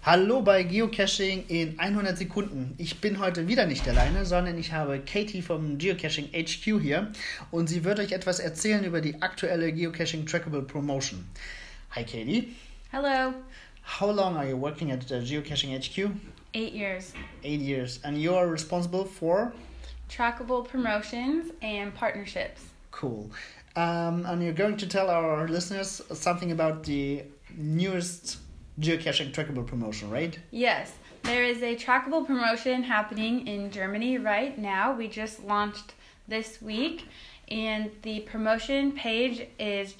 Hallo bei Geocaching in 100 Sekunden. Ich bin heute wieder nicht alleine, sondern ich habe Katie vom Geocaching HQ hier und sie wird euch etwas erzählen über die aktuelle Geocaching Trackable Promotion. Hi Katie. Hello. How long are you working at the Geocaching HQ? 8 years. 8 years. And you are responsible for? Trackable promotions and partnerships. Cool. And you're going to tell our listeners something about the newest geocaching trackable promotion, right? Yes, there is a trackable promotion happening in Germany right now. We just launched this week, and the promotion page is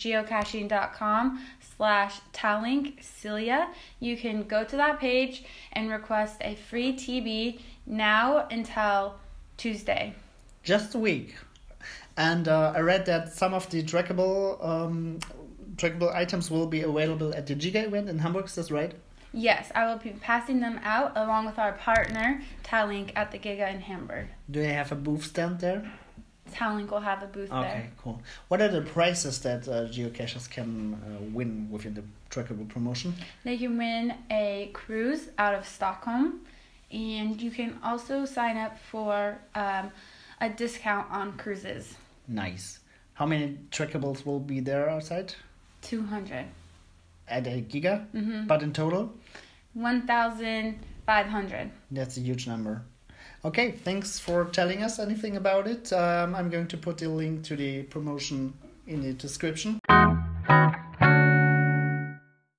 geocaching.com/Tallink-Cilia. You can go to that page and request a free TB now until Tuesday. Just a week. And I read that some of the trackable items will be available at the Giga event in Hamburg, is that right? Yes, I will be passing them out along with our partner, Tallink, at the Giga in Hamburg. Do they have a booth stand there? Tallink will have a booth there. Okay, cool. What are the prizes that geocachers can win within the trackable promotion? They can win a cruise out of Stockholm, and you can also sign up for a discount on cruises. Nice. How many trackables will be there outside? 200. At a Giga? Mm-hmm. But in total? 1,500. That's a huge number. Okay, thanks for telling us anything about it. I'm going to put the link to the promotion in the description.